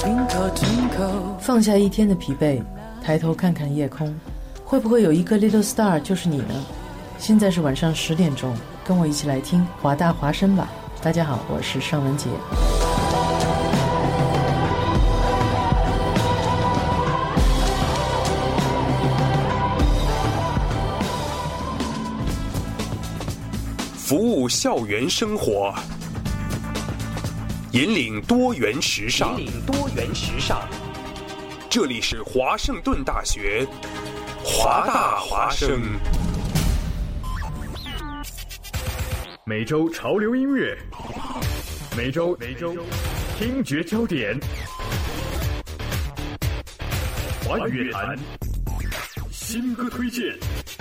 放下一天的疲惫，抬头看看夜空，会不会有一个 little star 就是你呢？现在是晚上10点钟，跟我一起来听华大华声吧。大家好，我是尚雯婕。 服务校园生活，引领多元时尚。这里是华盛顿大学华大华声。 每周潮流音乐，每周听觉焦点，华语乐坛新歌推荐。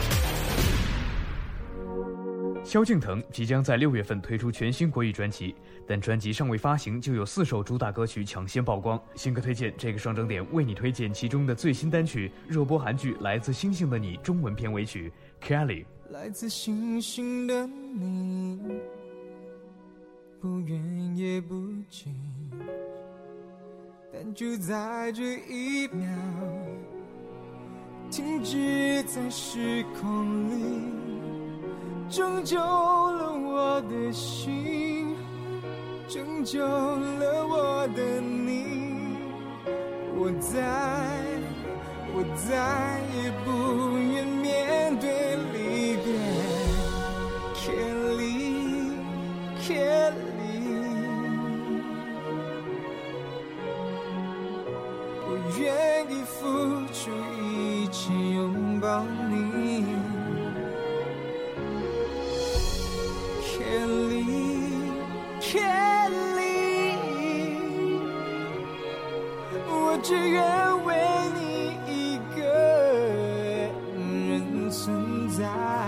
萧敬腾即将在6月份推出全新国语专辑，但专辑尚未发行就有4首主打歌曲抢先曝光。新歌推荐这个双整点为你推荐其中的最新单曲，热播韩剧《来自星星的你》中文片尾曲 Kelly。 来自星星的你，不远也不近，但就在这一秒停止在时空里，拯救了我的心，拯救了我的你。我再也不愿面对离别。 Kelly， 我愿意付出一切拥抱你。Kelly， 我只愿为你一个人存在。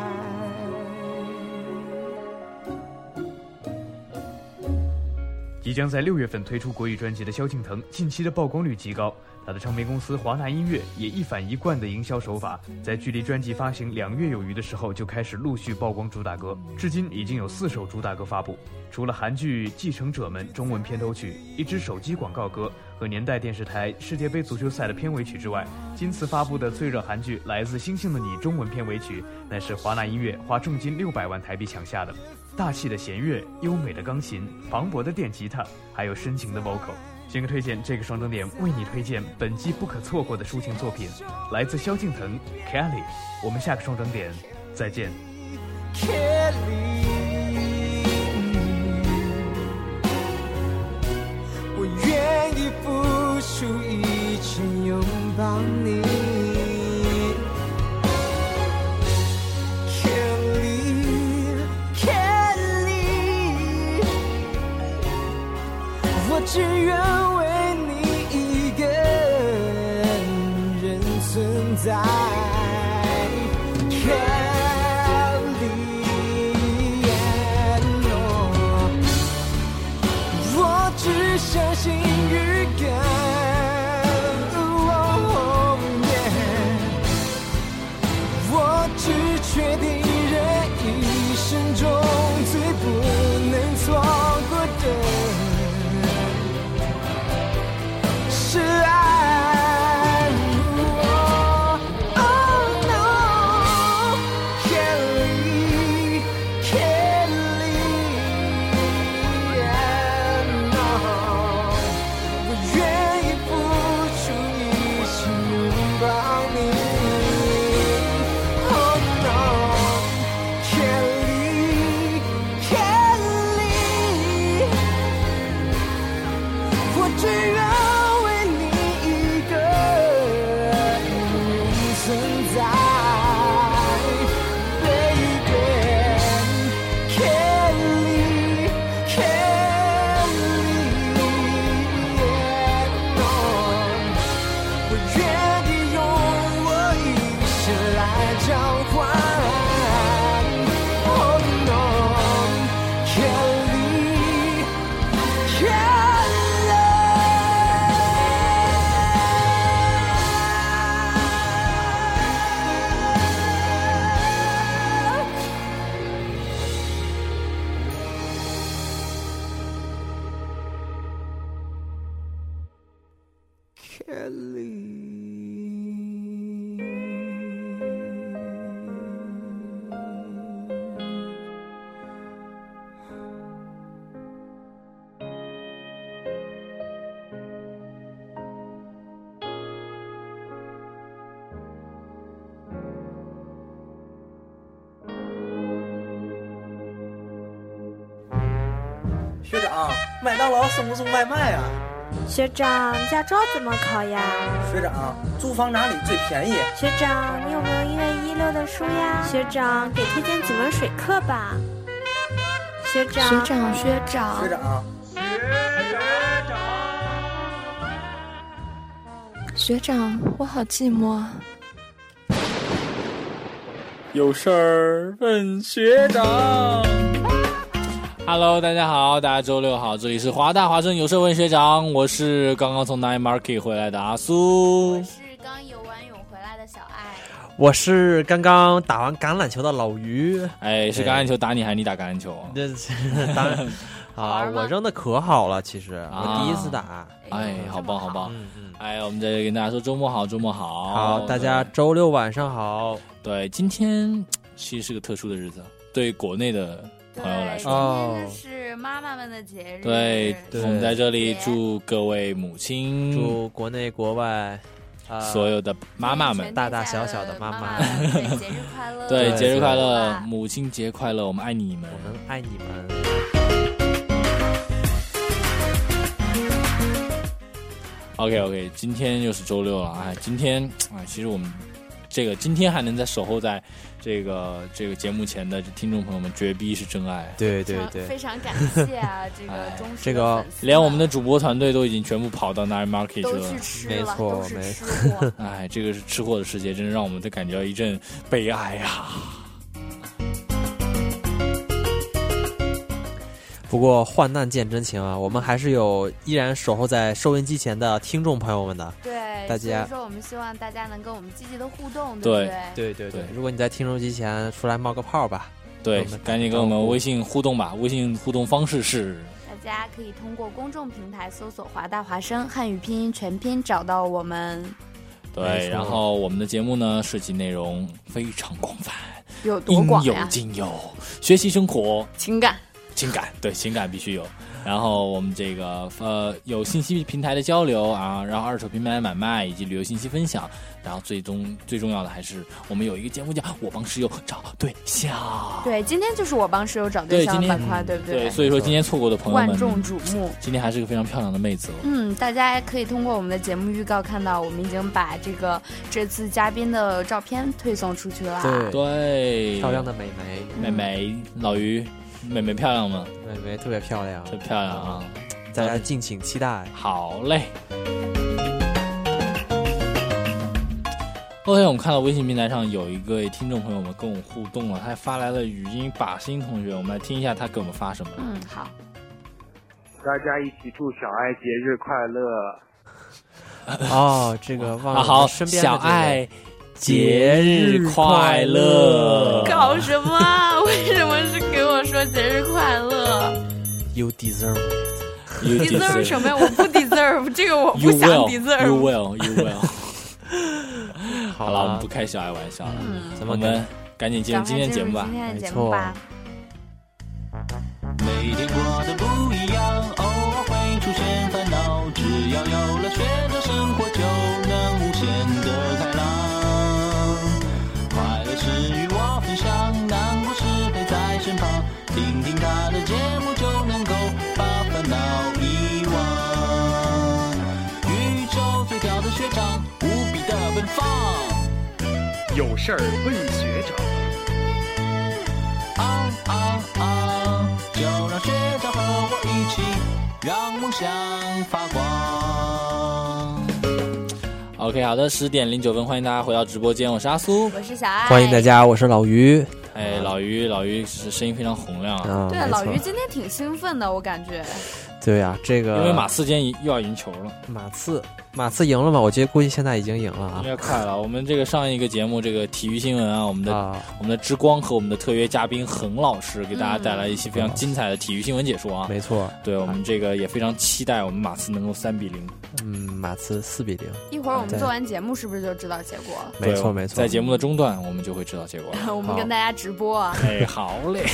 即将在6月份推出国语专辑的萧敬腾，近期的曝光率极高。他的唱片公司华纳音乐也一反一贯的营销手法，在距离专辑发行2月有余的时候，就开始陆续曝光主打歌，至今已经有4首主打歌发布。除了韩剧《继承者们》中文片头曲、一支手机广告歌和年代电视台世界杯足球赛的片尾曲之外，今次发布的最热韩剧《来自星星的你》中文片尾曲，乃是华纳音乐花重金600万台币抢下的。大气的弦乐、优美的钢琴、磅礴的电吉他，还有深情的 vocal。新歌推荐这个双整点为你推荐本季不可错过的抒情作品，来自萧敬腾 Kelly。 我们下个双整点再见。 Kelly， 我愿意付出一切拥抱你。我只愿为你一个人存在。 Kelly， 我只相信预感。我只确定人一生中最不能错过的是爱。Oh no， Kelly， no， 我愿意付出一切拥抱你。Oh no， Kelly， 我只愿 Kelly。 学长，麦当劳送不送外卖啊？ 学长，驾照怎么考呀？ 学长，租房哪里最便宜？ 学长，你有没有1月16的书呀？学长，给推荐几门水课吧。学长， 学长，学长， 学长， 学长，我好寂寞。 有事儿问学长。Hello， 大家好，大家周六好，这里是华大华生有事问学长，我是刚刚从 Night Market 回来的阿苏， 我是刚游完泳回来的小爱， 我是刚刚打完橄榄球的老于。 哎，是橄榄球打你还是你打橄榄球？ 这当然啊，我扔的可好了，其实我第一次打。 哎，好棒好棒。哎，我们在这里跟大家说周末好，周末好。 好，大家周六晚上好。 对，今天其实是个特殊的日子，对国内的朋友来说，今天是妈妈们的节日。 对，我们在这里祝各位母亲， 祝国内国外所有的妈妈们， 大大小小的妈妈， 对，节日快乐！ 对，节日快乐，母亲节快乐，我们爱你们， 我们爱你们。 OK， 今天又是周六了，哎，今天其实我们今天还能在守候在这个节目前的听众朋友们，绝逼是真爱。 对， 非常感谢啊，这个忠实的粉丝， 连我们的主播团队都已经全部跑到 Night Market 去了， 都去吃了， 没错， 都是吃货。 哎，这个是吃货的世界，真是让我们都感觉到一阵悲哀啊。 不过患难见真情啊，我们还是有依然守候在收音机前的听众朋友们的。 对， 大家， 所以说我们希望大家能跟我们积极的互动， 对不对。如果你在听收机前出来冒个泡吧， 对，赶紧跟我们微信互动吧。微信互动方式是， 大家可以通过公众平台搜索华大华生汉语拼音全拼找到我们。 对，然后我们的节目呢涉及内容非常广泛， 有多广呀？ 应有尽有，学习生活情感， 对，情感必须有。然后我们这个有信息平台的交流啊，然后二手平台的买卖以及旅游信息分享，然后最重要的还是我们有一个节目叫我帮室友找对象。 对，今天就是我帮室友找对象的板块，对不对？ 对，所以说今天错过的朋友们万众瞩目。 今天还是个非常漂亮的妹子哦。大家可以通过我们的节目预告看到，我们已经把这次嘉宾的照片推送出去了。 对， 漂亮的美眉，老于。妹妹漂亮吗？ 妹妹特别漂亮， 特漂亮啊！ 大家敬请期待。 好嘞。后天我们看到微信平台上有一个听众朋友们跟我互动了，他还发来了语音。把心同学，我们来听一下他给我们发什么。 好。 大家一起祝小爱节日快乐。 哦，这个忘了好， 身边小爱。节日快乐！ 搞什么啊？为什么是给我说节日快乐 ？You deserve it. You deserve 什么呀？我不 deserve， 这个我不想 deserve。 You will。好了，我们不开小爱玩笑了。我们赶紧进入今天节目吧。 没错。 每天过得不一样，偶尔会出现烦恼，只要有了学着生活，就能无限的开朗。是与我分享，难过时陪在身旁，听听他的节目就能够把烦恼遗忘。宇宙最屌的学长，无比的奔放， 有事儿问学长。 就让学长和我一起，让梦想发光。 OK， 好的，10点09分，欢迎大家回到直播间，我是阿苏， 我是小爱， 欢迎大家，我是老于。 哎，老于是声音非常洪亮啊。 对，老于今天挺兴奋的，我感觉。 对呀，这个因为马刺今天又要赢球了。 马刺赢了吗？我觉得估计现在已经赢了啊， 应该快了。我们这个上一个节目，这个体育新闻啊，我们的之光和我们的特约嘉宾恒老师给大家带来一期非常精彩的体育新闻解说啊。 没错， 对我们这个也非常期待我们马刺能够3-0。 马刺4-0。 一会儿我们做完节目是不是就知道结果了？ 没错没错， 在节目的中段我们就会知道结果了。 我们跟大家直播啊。 哎，好嘞。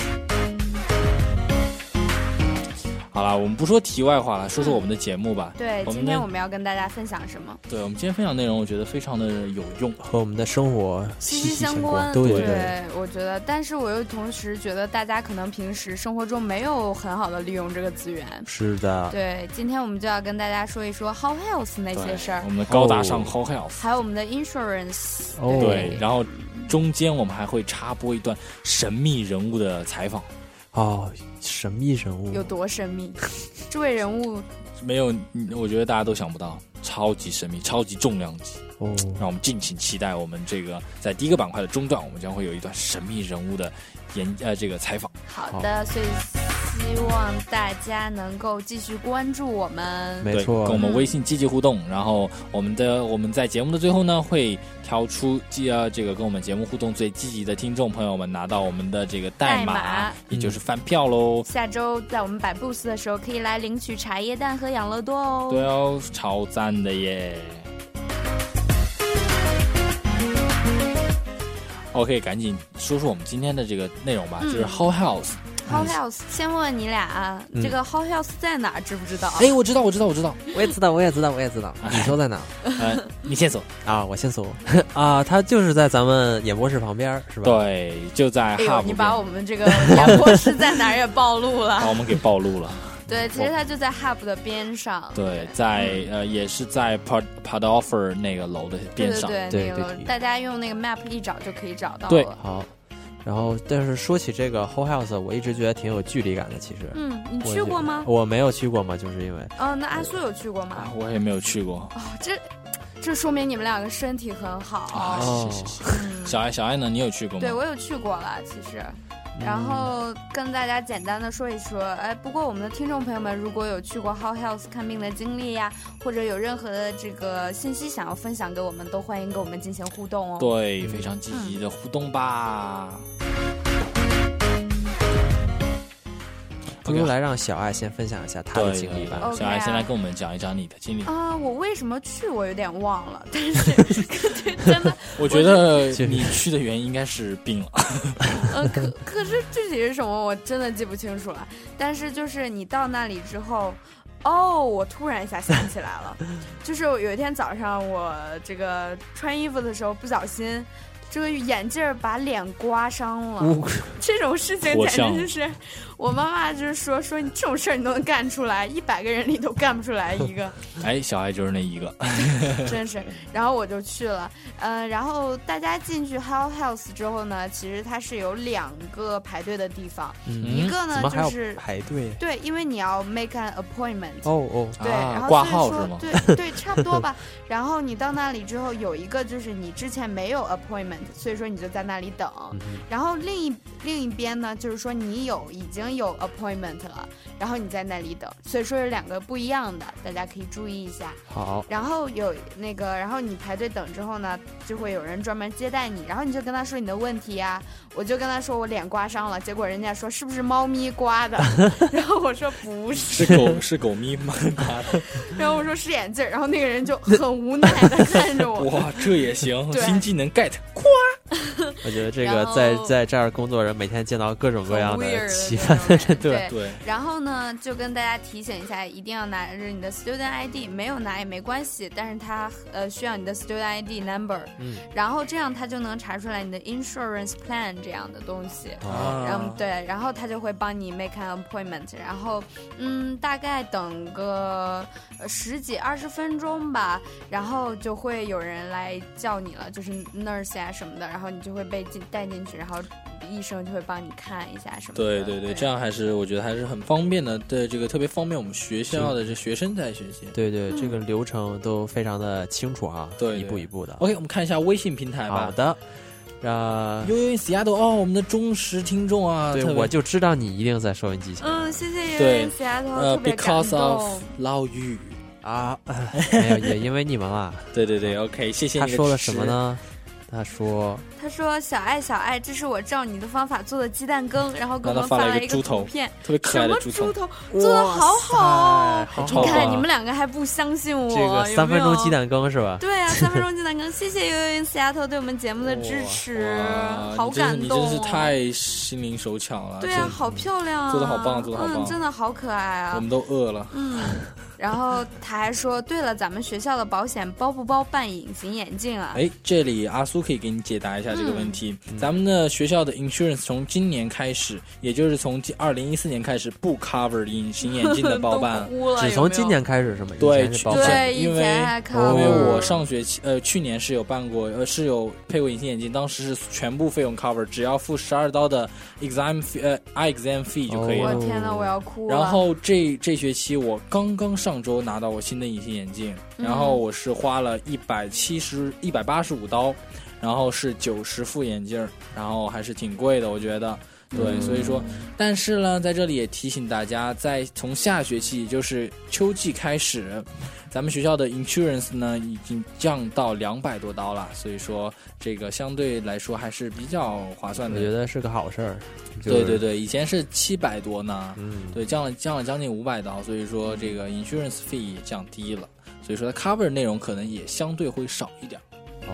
好了，我们不说题外话了，说说我们的节目吧。 对，今天我们要跟大家分享什么？ 对，我们今天分享内容，我觉得非常的有用， 和我们的生活息息相关。 对， 我觉得，但是我又同时觉得，大家可能平时生活中没有很好的利用这个资源。 是的。 对，今天我们就要跟大家说一说 How Health 那些事儿， 我们的高大上 How Health， 还有我们的 Insurance。 对，然后中间我们还会插播一段神秘人物的采访。 神秘人物有多神秘？这位人物没有，我觉得大家都想不到，超级神秘，超级重量级。让我们敬请期待我们这个在第一个板块的中段，我们将会有一段神秘人物的这个采访。 好的，所以希望大家能够继续关注我们， 没错， 跟我们微信积极互动。然后我们在节目的最后呢，会挑出这个跟我们节目互动最积极的听众朋友们拿到我们的这个代码，也就是饭票喽。 下周在我们摆 booth 的时候，可以来领取茶叶蛋和养乐多哦。 对哦，超赞的耶！OK， 赶紧说说我们今天的这个内容吧，就是 How Health。How Health， 先问问你俩啊，这个 How Health 在哪儿？知不知道？ 哎，我知道， 我也知道。你说在哪？ 你先说啊，我先说啊，它就是在咱们演播室旁边，是吧？ 对，就在 Hub。 你把我们这个演播室在哪儿也暴露了， 把我们给暴露了。 对，其实它就在 Hub 的边上。 对，在也是在 Padoffer 那个楼的边上。 对，那个楼，大家用那个 map 一找就可以找到了。 对， 好。然后，但是说起这个 How Health， 我一直觉得挺有距离感的。其实， 你去过吗？ 我没有去过嘛，就是因为那阿苏有去过吗？ 我也没有去过。 这说明你们两个身体很好。 小爱呢？你有去过吗？ 对，我有去过了，其实。然后跟大家简单的说一说，不过我们的听众朋友们如果有去过 How Health 看病的经历呀，或者有任何的这个信息想要分享给我们，都欢迎跟我们进行互动哦。 对，非常积极的互动吧。 不如来让小爱先分享一下她的经历吧。 小爱先来跟我们讲一讲你的经历啊。我为什么去我有点忘了，但是真的， 我觉得你去的原因应该是病了。 可是具体是什么我真的记不清楚了。但是就是你到那里之后，我突然一下想起来了，就是有一天早上我这个穿衣服的时候不小心。这个眼镜把脸刮伤了，这种事情简直就是我妈妈就是说你这种事儿你都能干出来，100个人里都干不出来一个。 哎，小爱就是那一个， 真是。然后我就去了，然后大家进去 How Health 之后呢，其实它是有2个排队的地方，一个呢就是排队， 对，因为你要 make an appointment。 对， 然后挂号是吗？ 对，差不多吧。然后你到那里之后，有一个就是你之前没有 appointment。所以说你就在那里等，然后另一边呢，就是说你已经有 appointment 了，然后你在那里等，所以说有2个不一样的，大家可以注意一下。 好。 然后然后你排队等之后呢，就会有人专门接待你，然后你就跟他说你的问题呀。我就跟他说我脸刮伤了，结果人家说是不是猫咪刮的？然后我说不是， 是狗咪刮的。 然后我说是眼镜，然后那个人就很无奈的看着我。 哇，这也行，新技能 get， 夸。 我觉得这个在这儿工作人每天见到各种各样的奇葩的人， 对。然后呢，就跟大家提醒一下，一定要拿着你的 student ID， 没有拿也没关系，但是他需要你的 student ID number，然后这样他就能查出来你的 insurance plan 这样的东西，然后对，然后他就会帮你 make an appointment， 然后大概等个10几20分钟吧，然后就会有人来叫你了，就是 nurse 啊什么的，然后你就会被带进去，然后医生就会帮你看一下什么的。 对，这样我觉得还是很方便的。对，这个特别方便我们学校的这学生在学习。 对，这个流程都非常的清楚啊，对，一步一步的。 OK， 我们看一下微信平台吧。 好的。 悠悠 in Seattle 哦，我们的忠实听众啊， 对，我就知道你一定在收音机前。 谢谢悠悠 in Seattle， 特别感动。 Because of 老语啊，没有，也因为你们啊。 对 ，OK， 谢谢你。 他说了什么呢？他说小爱，这是我照你的方法做的鸡蛋羹，然后给我们发了一个图片， 特别可爱的猪头， 做的好好， 你看你们两个还不相信我， 这个3分钟鸡蛋羹是吧？ 对啊，3分钟鸡蛋羹，谢谢悠悠 in Seattle 对我们节目的支持，好感动， 你真是太心灵手巧了， 对啊，好漂亮啊， 做的好棒， 真的好可爱啊， 我们都饿了， 然后他还说，对了，咱们学校的保险包不包办隐形眼镜啊？ 这里阿苏可以给你解答一下这个问题。咱们的学校的 insurance 从今年开始，也就是从2014年开始不 cover 隐形眼镜的包办， 只从今年开始是吗？ 对， 因为我上学期去年是有办过，是有配过隐形眼镜，当时是全部费用 cover， 只要付12刀的 eye exam fee 就可以了。 我天哪，我要哭了。 然后这学期我刚上周拿到我新的隐形眼镜，然后我是花了185刀，然后是90副眼镜，然后还是挺贵的，我觉得。对，所以说，但是呢，在这里也提醒大家，从下学期，也就是秋季开始，咱们学校的 insurance 呢已经降到200多刀了，所以说这个相对来说还是比较划算的。 我觉得是个好事儿。 对，以前是700多呢，对，降了将近500刀，所以说这个 insurance fee 也降低了，所以说它 cover 内容可能也相对会少一点。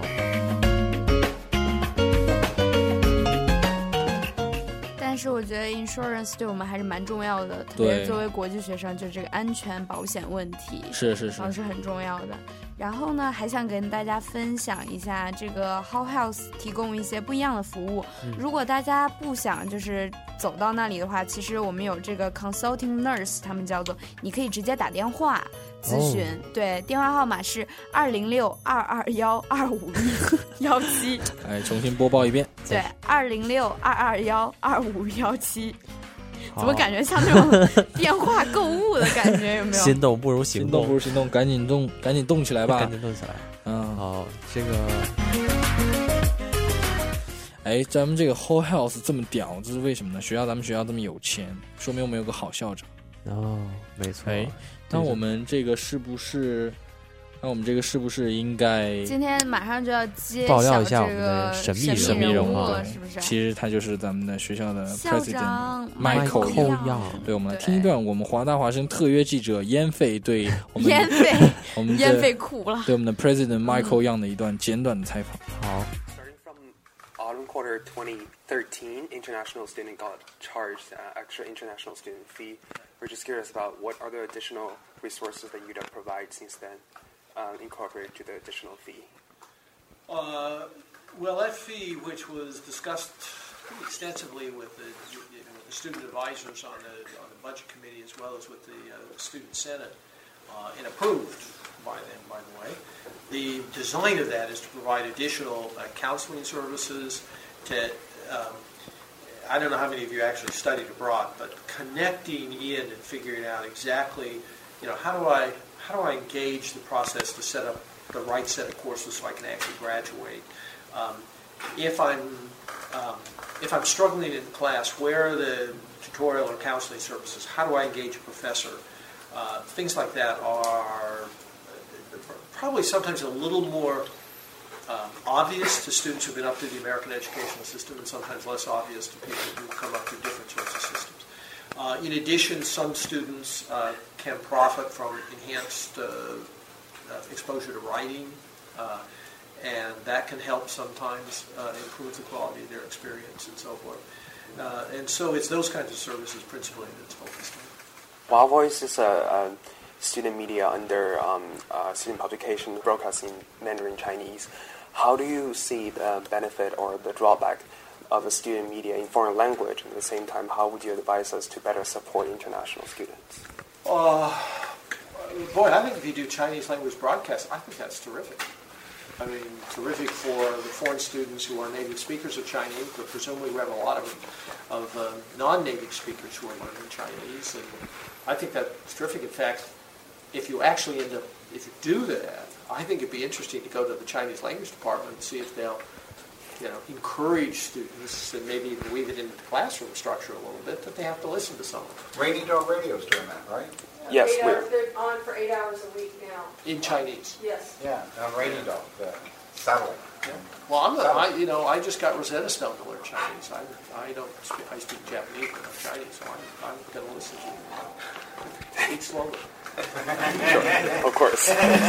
但是我觉得 insurance 对我们还是蛮重要的，特别作为国际学生，就这个安全保险问题是很重要的。然后呢，还想跟大家分享一下这个 How Health 提供一些不一样的服务。如果大家不想就是走到那里的话，其实我们有这个 consulting nurse， 他们叫做，你可以直接打电话咨询，对，电话号码是206-221-25117。 重新播报一遍。 对，206-221-25117。怎么感觉像那种电话购物的感觉？有没有？ 心动不如行动， 赶紧动起来吧！ 赶紧动起来。好，这个。 咱们这个 Whole Health 这么屌，这是为什么呢？咱们学校这么有钱，说明我们有个好校长。 没错。 那我们这个是不是应该今天马上就要揭爆料一下我们的神秘人物了， 是不是？ 其实他就是咱们的学校的校长 Michael Yang。对，我们来听一段我们华大华生特约记者烟费对我们烟费苦了， 对我们的 President Michael Yang 的一段简短的采访。 好。 Autumn quarter 2013, international student got charged extra international student fee. We're just curious about what are the additional resources that UW provides since then, incorporated to the additional fee. Well, that fee, which was discussed pretty extensively with the student advisors on the budget committee as well as with the student senate, and approved by them, by the way. The design of that is to provide additional counseling services to, I don't know how many of you actually studied abroad, but connecting in and figuring out exactly, how do I engage the process to set up the right set of courses so I can actually graduate. If I'm struggling in class, where are the tutorial or counseling services? How do I engage a professor? Things like that are probably sometimes a little more obvious to students who've been up through the American educational system and sometimes less obvious to people who come up through different sorts of systems. In addition, some students can profit from enhanced exposure to writing, and that can help sometimes improve the quality of their experience and so forth. And so it's those kinds of services principally that's focused on. Wow Voice is a student media under student publication broadcasting Mandarin Chinese. How do you see the benefit or the drawback of a student media in foreign language? At the same time, how would you advise us to better support international students? Boy, I think if you do Chinese language broadcasts, I think that's terrific. I mean, terrific for the foreign students who are native speakers of Chinese, but presumably we have a lot of non-native speakers who are learning Chinese, and I think that's terrific. In fact, if you do that, I think it'd be interesting to go to the Chinese language department and see if they'll encourage students and maybe even weave it into the classroom structure a little bit that they have to listen to someone. Rainy Dog Radio's doing that, right? Yes, they're on for 8 hours a week now. In Chinese. Yes. Yeah, on Rainy Dog, the satellite. Yeah. Well, I just got Rosetta Stone to learn Chinese. I speak Japanese, but not Chinese, so I'm going to listen to you. Speak slowly. Of course.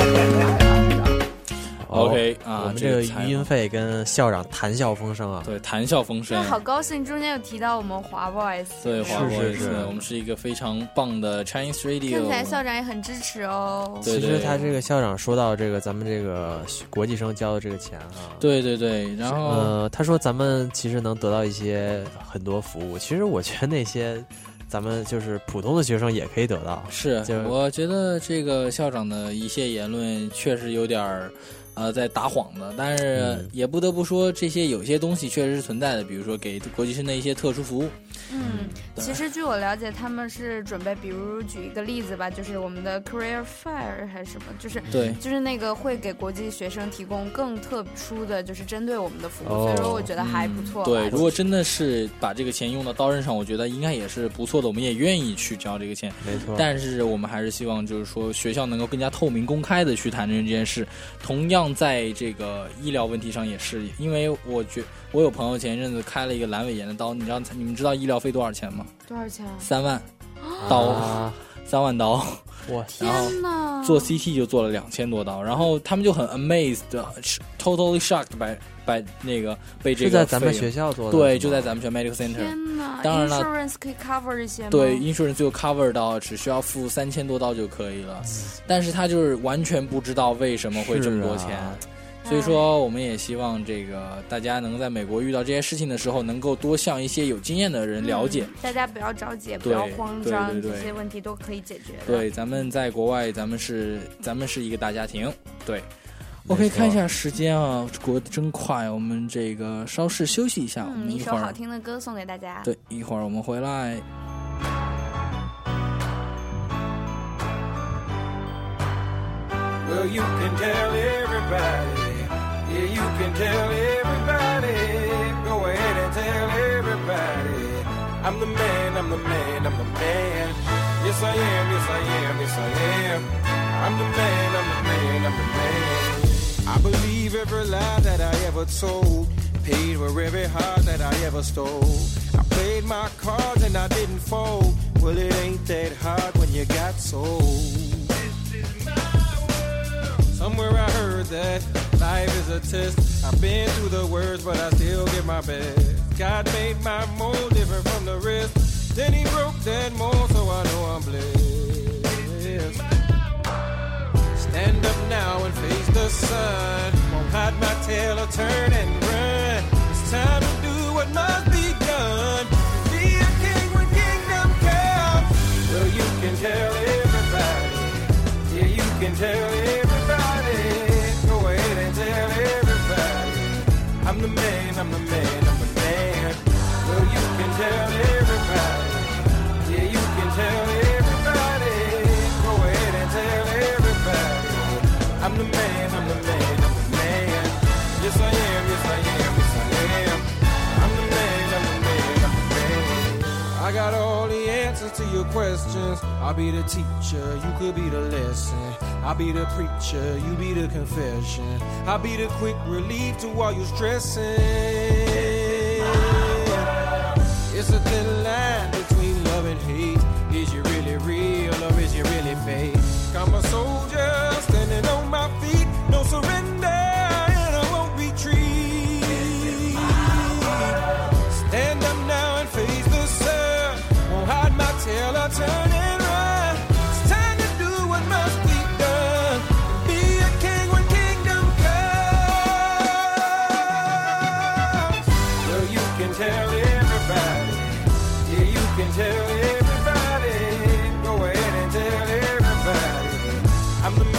OK 我们这个语音费跟校长谈笑风生啊， 对，谈笑风生， 好高兴，中间有提到我们华 boys， 对，华 boys， 我们是一个非常棒的 Chinese radio， 看起来校长也很支持哦。 其实他这个校长说到这个咱们这个国际生交的这个钱啊， 对，然后他说咱们其实能得到一些很多服务，其实我觉得那些咱们就是普通的学生也可以得到。 是，我觉得这个校长的一些言论确实有点在打谎的，但是也不得不说，这些有些东西确实是存在的，比如说给国际生的一些特殊服务。 其实据我了解，他们是准备，比如举一个例子吧，就是我们的 Career Fair 还是什么，就是那个会给国际学生提供更特殊的，就是针对我们的服务，所以说我觉得还不错。 对，如果真的是把这个钱用到刀刃上，我觉得应该也是不错的，我们也愿意去交这个钱。 没错。 但是我们还是希望，就是说学校能够更加透明、公开的去谈这件事。同样，在这个医疗问题上也是，因为我有朋友前一阵子开了一个阑尾炎的刀，你们知道医疗费多少钱吗？ 多少钱 ？3万刀，3万刀。 哇！ 天哪！ 做 CT 就做了2000多刀，然后他们就很 amazed，totally shocked by 那个被这个是在咱们学校做的， 对，就在咱们学校 medical center。 天哪！ 当然了 ，insurance 可以 cover 这些吗？ 对 ，insurance 就 cover 到只需要付3000多刀就可以了，但是他就是完全不知道为什么会这么多钱。所以说，我们也希望这个大家能在美国遇到这些事情的时候，能够多向一些有经验的人了解。 大家不要着急，不要慌张，这些问题都可以解决的。 对，咱们在国外，咱们是一个大家庭。对 ，OK， 看一下时间啊，过得真快。我们这个稍事休息一下，我们一会儿一首好听的歌送给大家。 对，一会儿我们回来。 Well, you can tell everybody.Yeah, you can tell everybody. Go ahead and tell everybody. I'm the man, I'm the man, I'm the man. Yes, I am, yes, I am, yes, I am. I'm the man, I'm the man, I'm the man. I believe every lie that I ever told. Paid for every heart that I ever stole. I played my cards and I didn't fold. Well, it ain't that hard when you got sold. Somewhere I heard that life is a test. I've been through the worst, but I still give my best. God made my mold different from the rest. Then he broke that mold, so I know I'm blessed. Stand up now and face the sun. Won't hide my tail or turn and run. It's time to do what must be done. Be a king when kingdom comes. Well, you can tell everybody. Yeah, you can tell everybody.Go ahead and tell everybody. I'm the man, I'm the man, I'm the man. Well, you can tell everybody. Yeah, you can tell everybody. Go ahead and tell everybody. I'm the man, I'm the man, I'm the man. Yes, I am, yes, I am, yes, I am. I'm the man, I'm the man, I'm the man. I got all the answers to your questions. I'll be the teacher, you could be the lesson.I'll be the preacher, you be the confession. I'll be the quick relief to all your stressing. It's a thin line between love and hate. Is you really real or is you really fake? I'm a soldier standing on my feet. No surrender and I won't retreat. Stand up now and face the sun. Won't hide my tail or turn and run. It's time to do what must be done.Be a king when kingdom comes. Well, you can tell everybody. Yeah, you can tell everybody. Go ahead and tell everybody. I'm the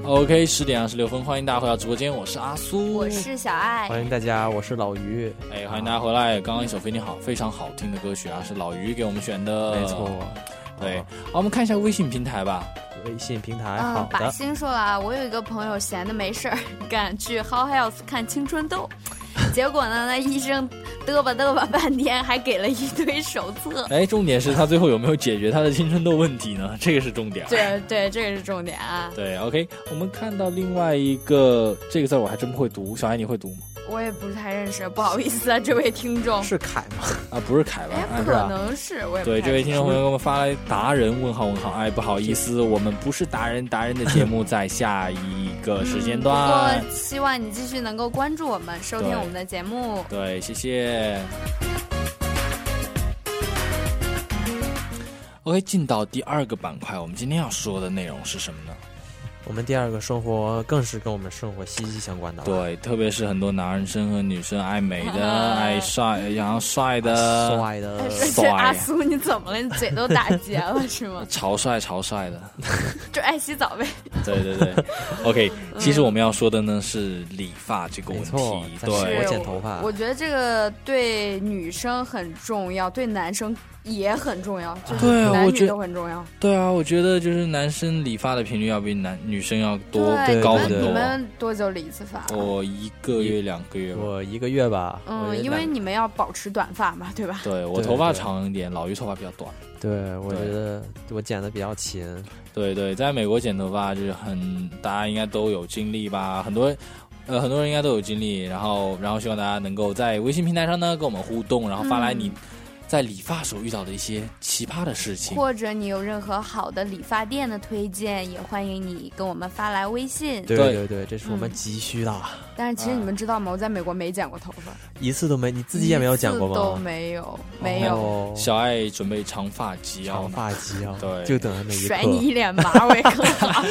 OK， 10点26分，欢迎大家回到直播间，我是阿苏， 我是小爱， 欢迎大家，我是老于。 哎，欢迎大家回来。刚刚一首非常好听的歌曲啊，是老于给我们选的。 没错。 对，好，我们看一下微信平台吧。 微信平台，好的。 把心说了啊，我有一个朋友闲的没事儿，赶去 How Health 看青春痘。结果呢，那医生嘚吧半天，还给了一堆手册。 哎，重点是他最后有没有解决他的青春痘问题呢？这个是重点。 对，这个是重点啊。 对 ，OK， 我们看到另外一个这个字我还真不会读，小艾你会读吗？ 我也不是太认识，不好意思啊，这位听众。 是凯吗？ 啊，不是凯吧？ 哎，可能是，我也不对，这位听众朋友给我们发来达人问号。哎，不好意思，我们不是达人的节目在下一个时间段。 不过希望你继续能够关注我们，收听我们的节目。 对，谢谢。OK， 进到第二个板块，我们今天要说的内容是什么呢？ 我们第二个生活更是跟我们生活息息相关的。 对，特别是很多男生和女生爱美的、爱帅，然后帅的。 这阿苏你怎么了？你嘴都打结了是吗？ 潮帅的， 就爱洗澡呗。 对。OK， 其实我们要说的呢是理发这个问题。对， 我剪头发。 我觉得这个对女生很重要，对男生也很重要，就是男女都很重要。 对啊，我觉得就是男生理发的频率要比女生要高很多。 你们多久理一次发？ 我1个月2个月吧。 我1个月吧。 因为你们要保持短发嘛，对吧？ 对，我头发长一点，老于头发比较短。 对，我觉得我剪的比较勤。 对，在美国剪头发就是大家应该都有经历吧，很多人应该都有经历，然后希望大家能够在微信平台上呢跟我们互动，然后发来你在理发时候遇到的一些奇葩的事情， 或者你有任何好的理发店的推荐，也欢迎你跟我们发来微信。 对，这是我们急需的。 但是其实你们知道吗？我在美国没剪过头发， 一次都没。你自己也没有剪过吗？ 都没有。 小爱准备长发及腰， 对，就等着那一刻， 甩你一脸马尾更好。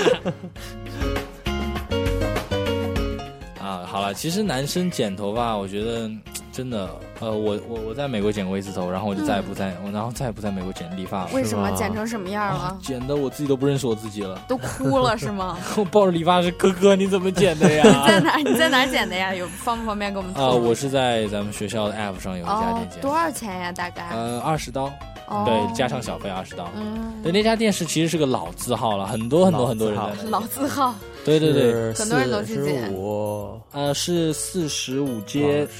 好了，其实男生剪头发，我觉得真的，我在美国剪过一次头，然后我就再也不在美国剪理发了。 为什么？剪成什么样了？ 剪的我自己都不认识我自己了， 都哭了是吗？ 我抱着理发师，哥你怎么剪的呀？ 你在哪剪的呀？方不方便给我们？ 我是在咱们学校的 App 上有一家店剪。 多少钱呀？大概 ？20刀。对，加上小费20刀。对，那家店其实是个老字号了，很多人在那。 老字号。 对， 很多人都去剪。 是45街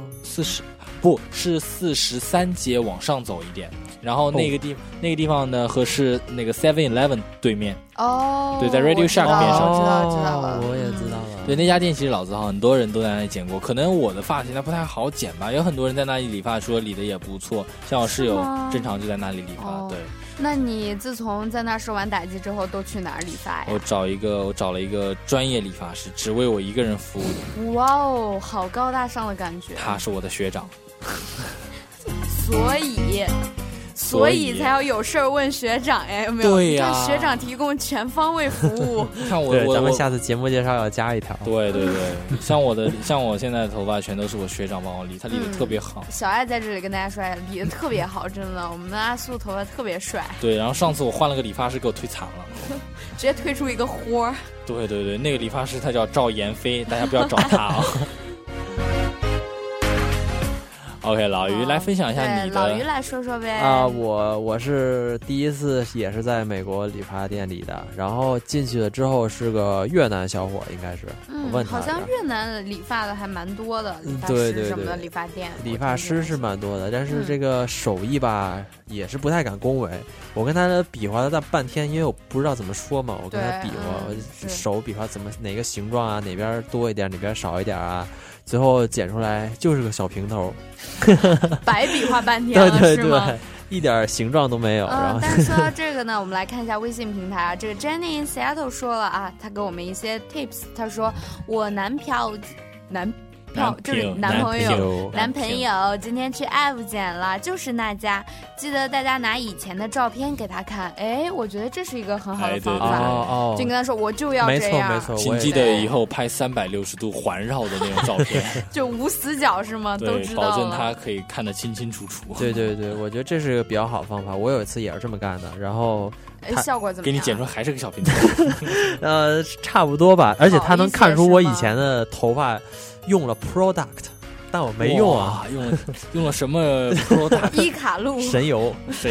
43街往上走一点，然后那个地方呢是那个 7-Eleven 对面。对，在 Radio Shack 边上。 知道了， 我也知道了。 对，那家店其实老字号，很多人都在那里剪过。可能我的发型它不太好剪吧，有很多人在那里理发，说理的也不错。像我室友正常就在那里理发。对。 那你自从在那受完打击之后，都去哪儿理发呀？ 我找了一个专业理发师，只为我一个人服务。 哇哦，好高大上的感觉。 他是我的学长。 所以才要有事儿问学长哎，有没有？ 对呀， 学长提供全方位服务。 看咱们下次节目介绍要加一条。 对，像我现在的头发全都是我学长帮我理，他理的特别好。 小爱在这里跟大家说，理的特别好，真的，我们的阿苏头发特别帅。 对，然后上次我换了个理发师，给我推惨了， 直接推出一个豁。 对，那个理发师他叫赵妍飞，大家不要找他啊。OK， 老于来分享一下你的。 老于来说说呗。 我是第一次也是在美国理发店理的，然后进去了之后是个越南小伙，应该是。我问他。 好像越南理发的还蛮多的，理发师什么的理发店。 理发师是蛮多的，但是这个手艺吧也是不太敢恭维。我跟他比划了大半天，因为我不知道怎么说嘛，我跟他比划，手比划哪个形状啊，哪边多一点，哪边少一点啊。最后剪出来就是个小平头， 白比划半天了， 对是吗？ 一点形状都没有。然后， 但是说到这个呢，我们来看一下微信平台啊。这个 Jenny in Seattle 说了啊，他给我们一些 tips。他说我男朋友就是男朋友今天去 F 剪了，就是那家记得大家拿以前的照片给他看，哎，我觉得这是一个很好的方法。就跟他说我就要这样， 没错， 请记得以后拍360度环绕的那种照片， 就无死角是吗？ 对， 都知道了， 保证他可以看得清清楚楚。 对，我觉得这是个比较好的方法。我有一次也是这么干的，然后效果怎么样？ 给你剪出来还是个小平头。 差不多吧，而且他能看出我以前的头发用了 product。但我没用啊， 用了什么 product？ 伊卡露神油。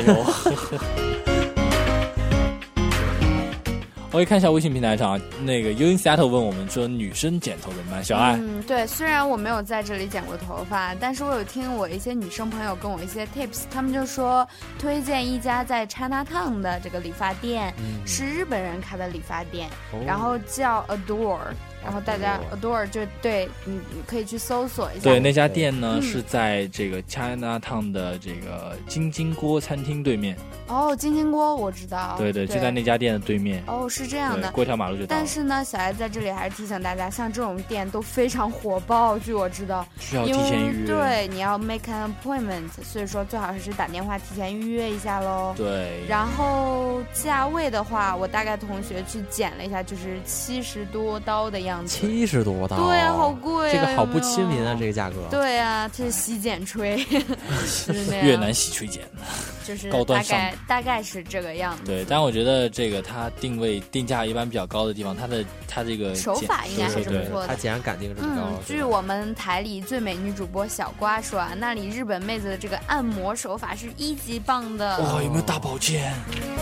我可以看一下微信平台上，那个 U in Seattle 问我们说女生剪头怎么办？小爱， 对，虽然我没有在这里剪过头发，但是我有听我一些女生朋友跟我一些 tips， 他们就说推荐一家在 Chinatown 的这个理发店，是日本人开的理发店，然后叫 Adore。然后大家 Adore 就对你可以去搜索一下。 对，那家店呢是在这个 Chinatown 的这个金金锅餐厅对面。 哦，金金锅我知道。 对，就在那家店的对面。 哦，是这样的， 过一条马路就到了。 但是呢，小艾在这里还是提醒大家，像这种店都非常火爆，据我知道需要提前预约。 对，你要 make an appointment， 所以说最好是打电话提前预约一下喽。 对。 然后价位的话，我大概同学去减了一下，就是70多刀的样子。 70多刀。 对啊，好贵啊！ 这个好不亲民啊，这个价格。 对啊，这是洗剪吹，就是那样。 越南洗吹剪， 就是高端上。 大概是这个样子。 对，但我觉得这个它定价一般比较高的地方，它这个手法应该还是不错的。 它竟然敢定这么高。 据我们台里最美女主播小瓜说啊，那里日本妹子的这个按摩手法是1级棒的。 哇，有没有大保健？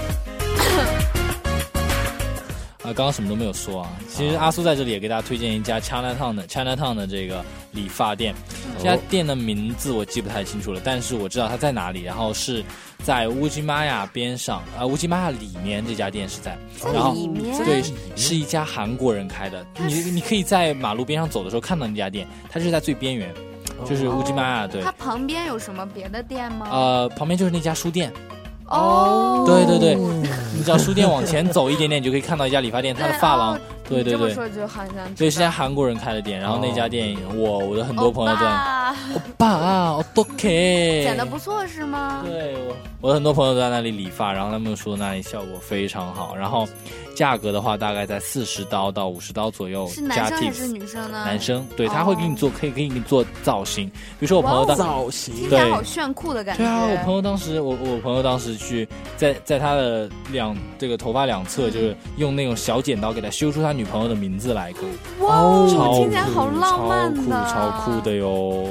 刚刚什么都没有说啊。其实阿苏在这里也给大家推荐一家 Chinatown 的这个理发店。这家店的名字我记不太清楚了，但是我知道它在哪里。然后是在乌吉玛亚边上，乌吉玛亚里面这家店是在。然后对，是一家韩国人开的。你可以在马路边上走的时候看到那家店，它是在最边缘，就是乌吉玛亚。对。 它旁边有什么别的店吗？ 旁边就是那家书店。 哦， 对，你只要书店往前走一点点，你就可以看到一家理发店，它的发廊，对， 这么说就好像对，是家韩国人开的店，然后那家店，我的很多朋友都，欧巴，OK， 剪得不错是吗？ 对，我的很多朋友都在那里理发，然后他们说那里效果非常好，然后价格的话大概在40刀到50刀左右。 是男生还是女生呢？ 男生，对，他会给你做，可以给你做造型，比如说我朋友造型， 听起来好炫酷的感觉。 对啊，我朋友当时去在他的这个头发两侧，就是用那种小剪刀给他修出他女朋友的名字来， 哇，听起来好浪漫的， 超酷的哟。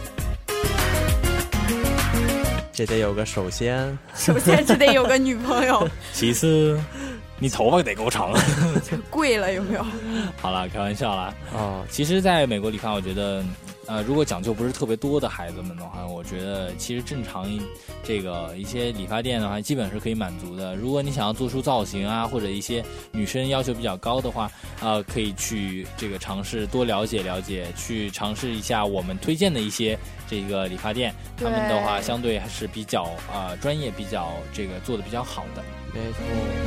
这得有个首先这得有个女朋友， 其次你头发得够长了， 贵了有没有？ 好了，开玩笑啦。其实在美国理发，我觉得如果讲究不是特别多的孩子们的话，我觉得其实正常一些理发店的话，基本是可以满足的。如果你想要做出造型啊，或者一些女生要求比较高的话，可以去这个尝试多了解，去尝试一下我们推荐的一些这个理发店，他们的话相对还是比较专业，比较这个做的比较好的。 没错。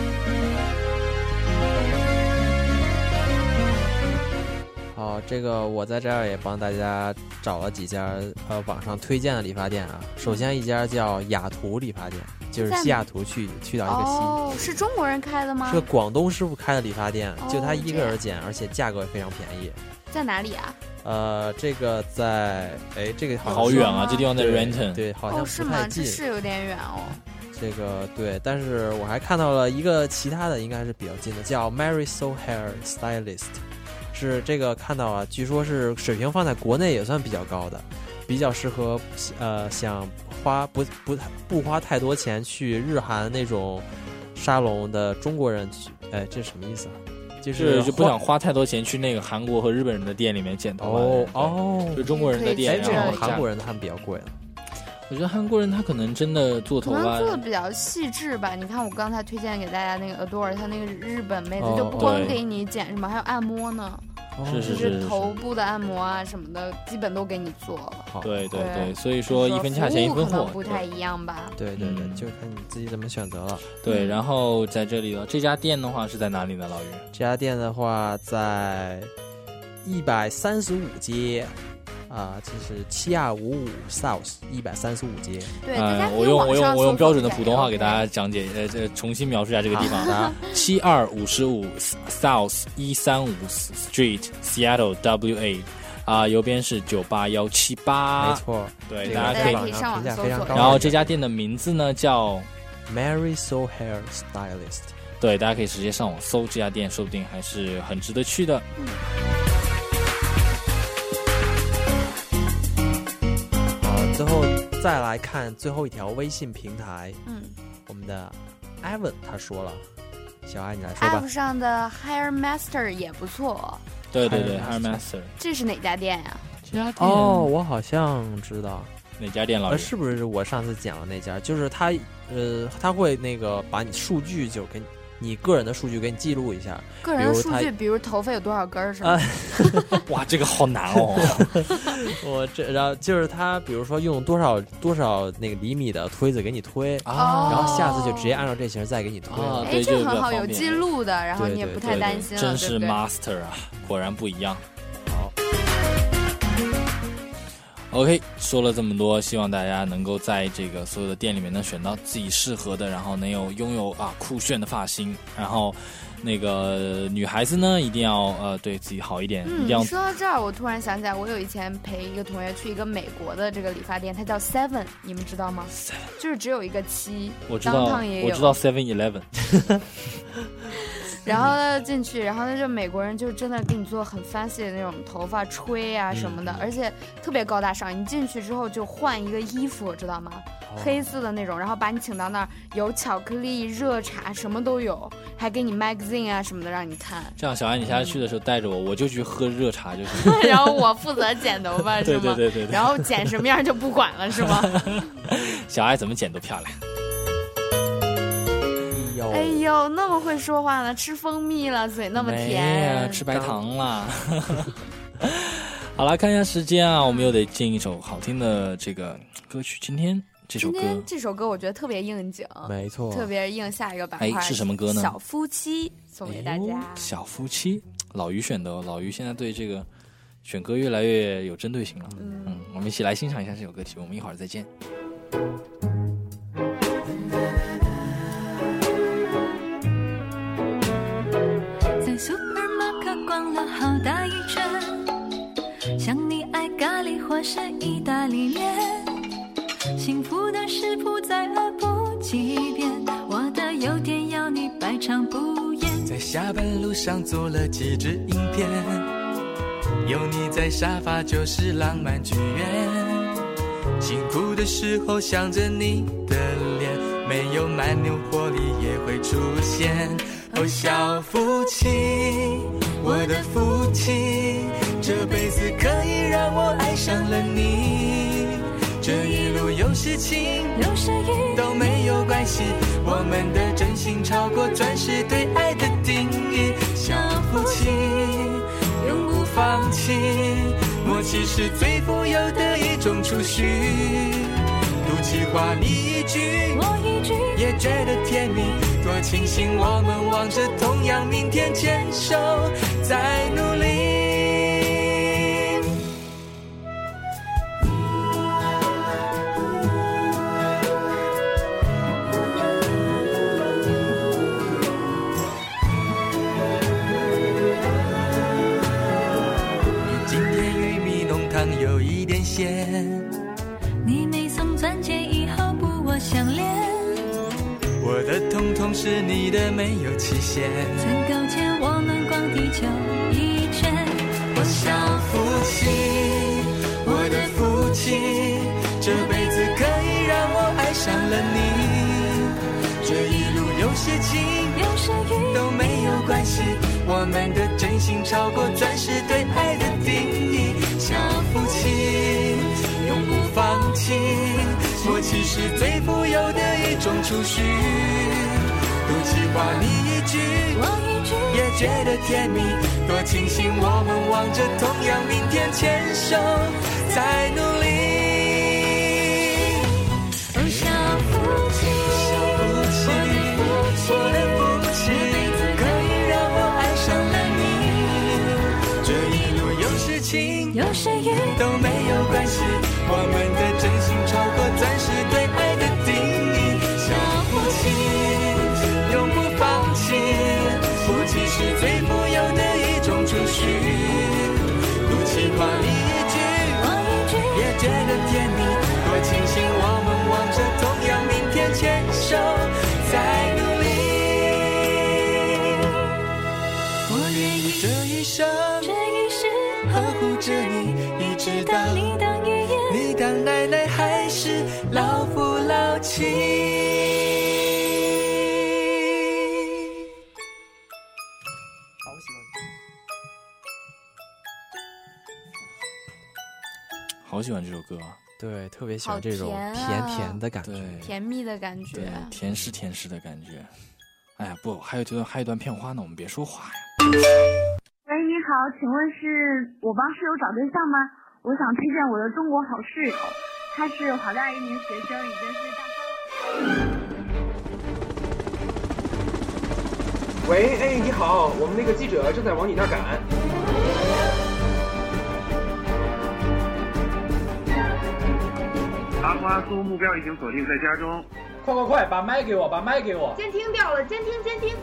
好，这个我在这儿也帮大家找了几家网上推荐的理发店啊。首先一家叫雅图理发店，就是西雅图去到一个西。 哦，是中国人开的吗？ 是个广东师傅开的理发店，就他一个人剪，而且价格也非常便宜。 在哪里啊？ 这个在这个好远啊，这地方在 Renton。 对，好像不太近。 这是有点远哦。 这个对，但是我还看到了一个其他的，应该是比较近的，叫 Marisol Hair Stylist。是这个看到啊，据说是水平放在国内也算比较高的，比较适合想不花太多钱去日韩那种沙龙的中国人去。这是什么意思啊？ 就不想花太多钱去那个韩国和日本人的店里面剪头发。就中国人的店， 这种韩国人他们比较贵了。 我觉得韩国人他可能真的做头发可能做的比较细致吧。你看我刚才推荐给大家那个 Adore， 他那个日本妹子就不光给你剪什么，还有按摩呢。 是头部的按摩啊什么的，基本都给你做了。 对，所以说一分价钱一分货， 不太一样吧？ 对，就看你自己怎么选择了。 对，然后在这里这家店的话是在哪里呢？老于， 这家店的话在135街。 这是7255 South 135街。 对，大家可以我用标准的网上普通话给大家讲解，重新描述一下这个地方。7255 South 135 Street Seattle WA。右边是98178， 没错， 对， 大家可以上网搜索。 然后这家店的名字呢叫 Marisol Hair Stylist， 对，大家可以直接上网搜这家店，说不定还是很值得去的。 最后再来看最后一条微信平台，我们的 Evan 他说了，小爱你来说吧。 App 上的 Hair Master 也不错。 对 Hair Master， 这是哪家店呀？ 这家店我好像知道哪家店，老师是不是我上次讲的那家？就是他会那个把你数据就给你个人的数据给你记录一下， 个人的数据，比如头发有多少根是吧？ 哇，这个好难哦！ 然后就是他，比如说用多少那个厘米的推子给你推，然后下次就直接按照这型再给你推。 对， 这很好，有记录的，然后你也不太担心了。 真是 master 啊，果然不一样。 好。 OK， 说了这么多，希望大家能够在这个所有的店里面能选到自己适合的，然后能拥有酷炫的发型，然后那个女孩子呢一定要对自己好一点。一定要。 说到这儿，我突然想起来，我有以前陪一个同学去一个美国的这个理发店，它叫 Seven， 你们知道吗？ Seven 就是只有一个7， 我知道，我知道 7-Eleven。 然后呢进去，然后那就美国人就真的给你做很 fancy 的那种头发吹啊什么的，而且特别高大上。你进去之后就换一个衣服，知道吗？黑色的那种，然后把你请到那儿，有巧克力、热茶，什么都有，还给你 magazine 啊什么的让你看。 这样，小安，你下次去的时候带着我就去喝热茶就行。 然后我负责剪头发，是吗？ 对。 然后剪什么样就不管了，是吗？ 小爱怎么剪都漂亮。 哎呦，那么会说话呢，吃蜂蜜了，嘴那么甜， 吃白糖了。好了，看一下时间啊，我们又得进一首好听的这个歌曲。今天这首歌我觉得特别应景， 没错， 特别应下一个板块。 是什么歌呢？ 小夫妻送给大家。 小夫妻，老于选的哦，老于现在对这个选歌越来越有针对性了。我们一起来欣赏一下这首歌曲，我们一会儿再见。 逛了好大一圈，像你爱咖喱或是意大利面，幸福的食谱再恶补几遍，我的优点要你百尝不厌。 在下班路上做了几支影片，有你在沙发就是浪漫剧院，辛苦的时候想着你的脸，没有蛮牛活力也会出现。小夫妻，我的夫妻，这辈子可以让我爱上了你。这一路有事情有时雨都没有关系，我们的真心超过钻石对爱的定义。小夫妻永不放弃，默契是最富有的一种储蓄。赌气话你一句我一句也觉得甜蜜，多庆幸我们望着同样明天，牵手再努力。今天玉米浓汤有一点咸， 你没送钻戒以后不我相恋， 我的统统是你的没有期限， 曾够钱我们逛地球一圈。 我小夫妻，我的夫妻，这辈子可以让我爱上了你。这一路有些晴有些雨都没有关系，我们的真心超过钻石对爱的定义。小夫妻永不放弃，默契是最富有的一种储蓄。赌气话你一句我一句也觉得甜蜜，多庆幸我们望着同样明天，牵手再努力。 小夫妻， 我的夫妻，可以让我爱上了你。这一路有事情有谁与都没有关系，我们的真心超过钻石对爱的定义。相互亲，永不放弃，夫妻是最富有的一种储蓄。不期望你一句也觉得甜蜜，多庆幸我们望着同样明天，牵手在努力。我愿意这一生呵护着你，一直到你当奶奶还是老夫老妻。 好喜欢这首歌啊！ 对，特别喜欢这种甜甜的感觉， 甜蜜的感觉， 对，甜湿甜湿的感觉。哎呀，不，还有一段片花呢，我们别说话呀。 喂，你好，请问是我帮室友找对象吗？我想推荐我的中国好室友，他是华大一名学生，已经是大三了。 喂，哎，你好，我们那个记者正在往你那儿赶。 阿花苏目标已经锁定在家中。 快，把麦给我，把麦给我。 监听掉了，监听。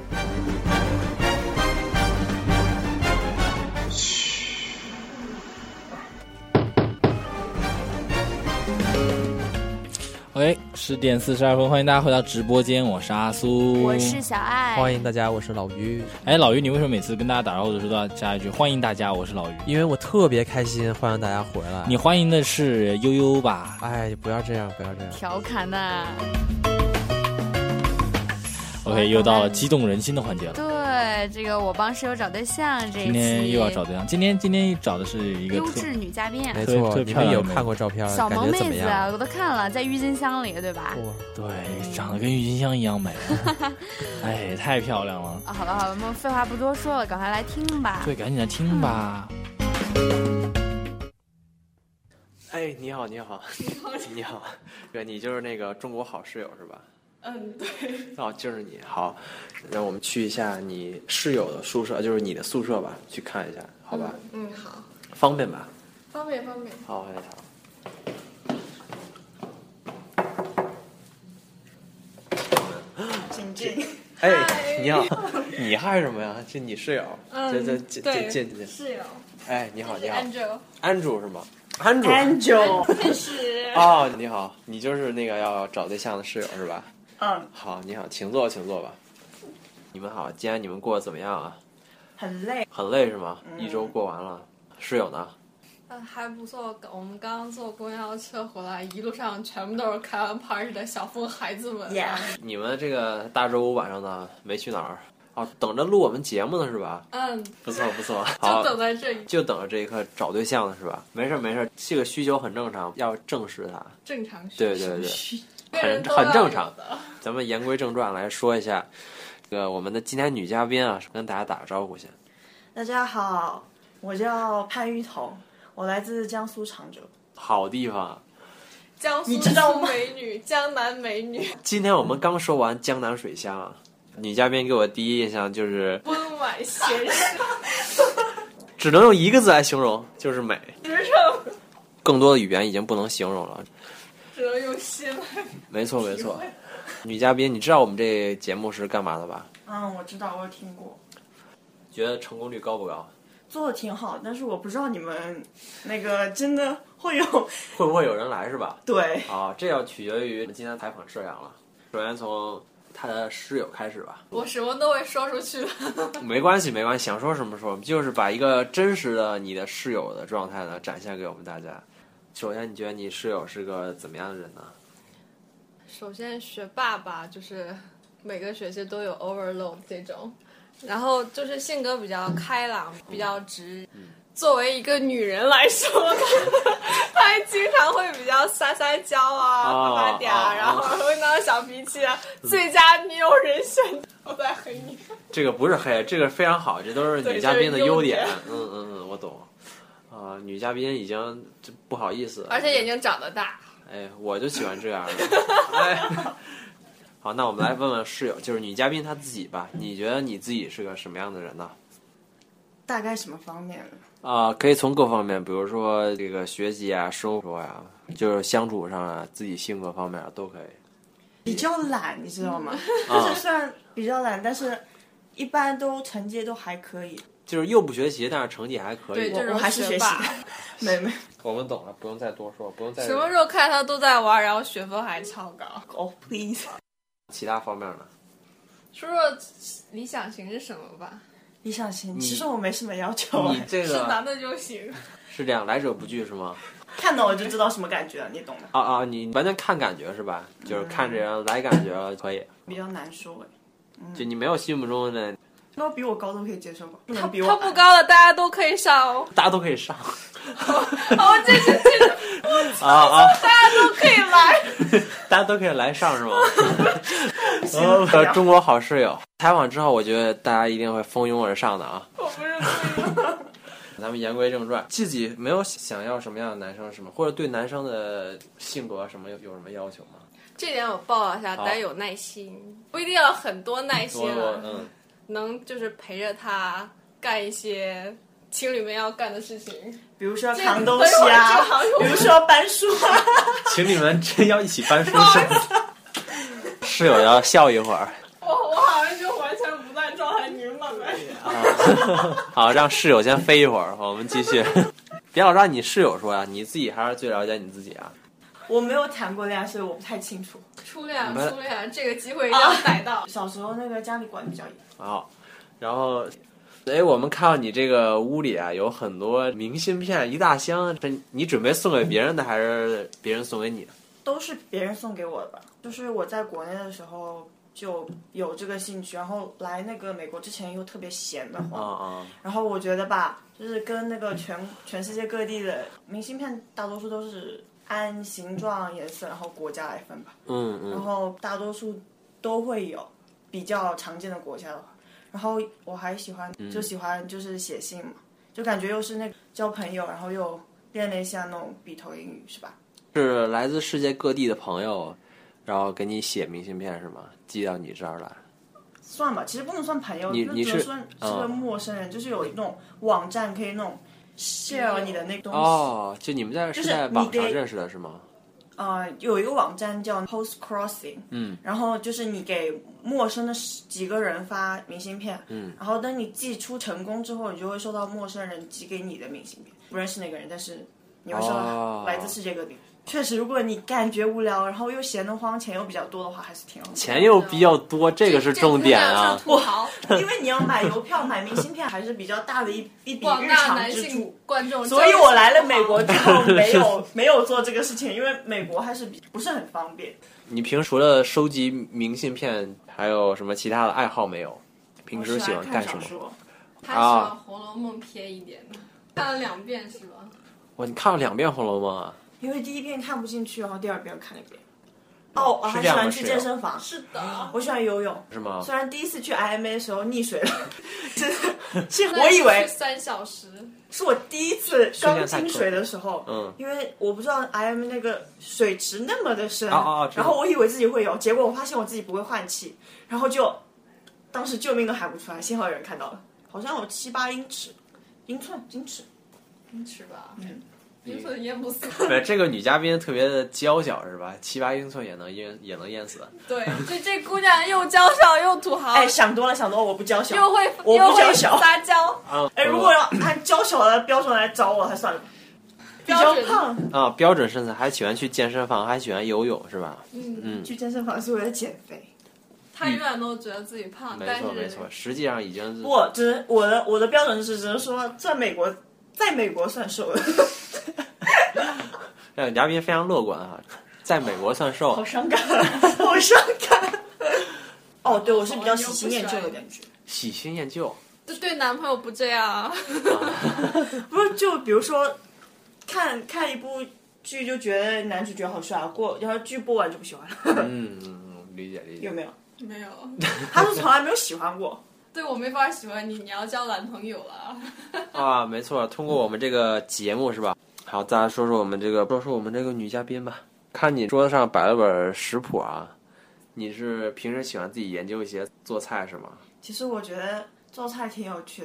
OK， 10点42分，欢迎大家回到直播间，我是阿苏， 我是小爱， 欢迎大家，我是老于。 哎，老于，你为什么每次跟大家打招呼的时候都要加一句欢迎大家，我是老于？ 因为我特别开心，欢迎大家回来。 你欢迎的是悠悠吧？ 哎，不要这样， 调侃呐。 OK， 又到了激动人心的环节了。 对，这个我帮室友找对象这一期， 今天又要找对象。今天找的是一个优质女嘉宾， 没错，你们有看过照片？ 小萌妹子啊，我都看了，在郁金香里，对吧？ 对，长得跟郁金香一样美。哎，太漂亮了。 啊，好了，我们废话不多说了，赶快来听吧。 对，赶紧来听吧。 哎，你好，哥，你就是那个中国好室友是吧？ 嗯，对。 哦，就是你。好，让我们去一下你室友的宿舍，就是你的宿舍吧，去看一下，好吧？ 嗯，好。 方便吧？ 方便。 好， 请进。 哎，你好，你害什么呀？这你室友？ 对，室友。 哎，你好。 Andrew 是吗 ？Andrew 认识。 哦，你好，你就是那个要找对象的室友是吧？ 嗯。 好，你好，请坐吧。你们好，今天你们过得怎么样啊？ 很累是吗？一周过完了，室友呢？ 还不错，我们刚刚坐公交车回来，一路上全部都是开完 party 的小疯孩子们。 你们这个大周五晚上呢，没去哪儿？哦，等着录我们节目呢是吧？ 嗯， 不错。好， 就等在这里， 就等着这一刻找对象呢是吧？没事，这个需求很正常，要正视它。 正常需求。对，很正常。咱们言归正传来说一下，这个我们的今天女嘉宾啊，跟大家打个招呼先。 大家好，我叫潘玉彤，我来自江苏常州。 好地方。 江苏美女，江南美女。 今天我们刚说完江南水乡啊，女嘉宾给我第一印象就是温婉贤淑， 只能用一个字来形容，就是美。 实诚。 更多的语言已经不能形容了。 只能用心来。 没错。女嘉宾，你知道我们这节目是干嘛的吧？ 嗯，我知道，我有听过。 觉得成功率高不高？ 做的挺好，但是我不知道你们那个真的会不会有人来是吧？ 对。 好，这要取决于今天采访摄阳了。首先从他的室友开始吧。 我什么都会说出去的。 没关系，想说什么说，就是把一个真实的你的室友的状态呢展现给我们大家。首先，你觉得你室友是个怎么样的人呢？ 首先，学霸吧，就是每个学期都有 overload 这种，然后就是性格比较开朗，比较直。作为一个女人来说，她还经常会比较撒娇啊，发嗲，然后会闹小脾气啊。最佳女友人选，我在黑你。 这个不是黑，这个非常好，这都是女嘉宾的优点。我懂。女嘉宾已经不好意思， 而且眼睛长得大。 哎，我就喜欢这样的。哎，好，那我们来问问室友，就是女嘉宾她自己吧。你觉得你自己是个什么样的人呢？ 大概什么方面？ 可以从各方面，比如说这个学习啊、生活呀、就是相处上啊，自己性格方面都可以。 比较懒，你知道吗？就是虽然比较懒，但是一般都成绩都还可以。 就是又不学习，但是成绩还可以。 对， 我还是学习的。没， 我们懂了，不用再多说，不用再。 什么时候看他都在玩，然后学分还超高？ 哦、please。 其他方面呢？ 说说理想型是什么吧？ 理想型，其实我没什么要求。 你这个是男的就行。 是这样，来者不拒是吗？ 看到我就知道什么感觉，你懂的。 你完全看感觉是吧？就是看这人来感觉可以。 比较难说就你没有心目中的。 那比我高都可以接受吧？ 他不高了，大家都可以上哦。 大家都可以上。 这是大家都可以来。 大家都可以来上是吗？中国好室友采访之后，我觉得大家一定会蜂拥而上的啊！ 我不是故意的。 咱们言归正传，自己没有想要什么样的男生是吗？或者对男生的性格什么有什么要求吗？ 这点我报了一下，得有耐心，不一定要很多耐心了。能就是陪着他干一些情侣们要干的事情， 比如说扛东西啊，比如说搬书啊。 情侣们真要一起搬书是吗？室友要笑一会儿。 我好像就完全不在状态，你们慢慢好，让室友先飞一会儿，我们继续。别老让你室友说呀，你自己还是最了解你自己啊。 我没有谈过恋爱，所以我不太清楚。 初恋，这个机会一定要逮到。 小时候那个家里管比较严。 然后，我们看到你这个屋里啊，有很多明信片，一大箱。你准备送给别人的，还是别人送给你的？ 都是别人送给我的吧。就是我在国内的时候就有这个兴趣，然后来那个美国之前又特别闲的慌。然后我觉得吧，就是跟那个全世界各地的明信片，大多数都是按形状、颜色，然后国家来分吧。然后大多数都会有比较常见的国家的话，然后我还喜欢就是写信嘛，就感觉又是那个交朋友，然后又练了一下那种笔头英语，是吧？是来自世界各地的朋友，然后给你写明信片是吗？寄到你这儿来。 算吧，其实不能算朋友，你是个陌生人，就是有那种网站可以那种 share 你的那个东西。就你们是在网上认识的是吗？有一个网站叫 Post Crossing，然后就是你给陌生的几个人发明信片，然后等你寄出成功之后，你就会收到陌生人寄给你的明信片，不认识那个人，但是你会收到来自世界各地。确实，如果你感觉无聊，然后又闲得慌，钱又比较多的话，还是挺好的。钱又比较多，这个是重点啊！因为你要买邮票、买明信片，还是比较大的一笔日常支出。观众，所以我来了美国之后，没有做这个事情，因为美国还是不是很方便。你平时除了收集明信片，还有什么其他的爱好没有？平时喜欢干什么？ 他喜欢《红楼梦》偏一点的，看了2遍是吧？ 哇，你看了2遍《红楼梦》啊？因为第1遍看不进去，然后第2遍看了1遍。我还喜欢去健身房。是的，我喜欢游泳。是吗？虽然第一次去 IMA 的时候溺水了，我以为 3小时。 是我第一次刚进水的时候，因为我不知道 IMA 那个水池那么的深，然后我以为自己会游，结果我发现我自己不会换气，然后当时救命都喊不出来，幸好有人看到了，好像有7、8英尺吧。 英寸淹不死。 对，这个女嘉宾特别的娇小是吧？7、8英寸也能淹死。对， 这姑娘又娇小又土豪。 想多了，我不娇小， 我不娇小，撒娇。 如果要按娇小的标准来找我，还算了。比较胖啊，标准身材，还喜欢去健身房，还喜欢游泳是吧？ 去健身房是为了减肥。 他永远都觉得自己胖， 没错，实际上已经是我的标准是只能说在美国算瘦的。 这个嘉宾非常乐观哈，在美国算瘦。 好伤感。对，我是比较喜新厌旧的感觉。 喜新厌旧？ 对男朋友不这样啊？ 不是，就比如说看一部剧就觉得男主角好帅，然后剧播完就不喜欢了。 理解。 有没有？ 没有。 他是从来没有喜欢过。 对，我没法喜欢你，你要交男朋友了。 没错，通过我们这个节目是吧？好，再来说说我们这个女嘉宾吧。看你桌子上摆了本食谱啊，你是平时喜欢自己研究一些做菜是吗？ 其实我觉得做菜挺有趣的，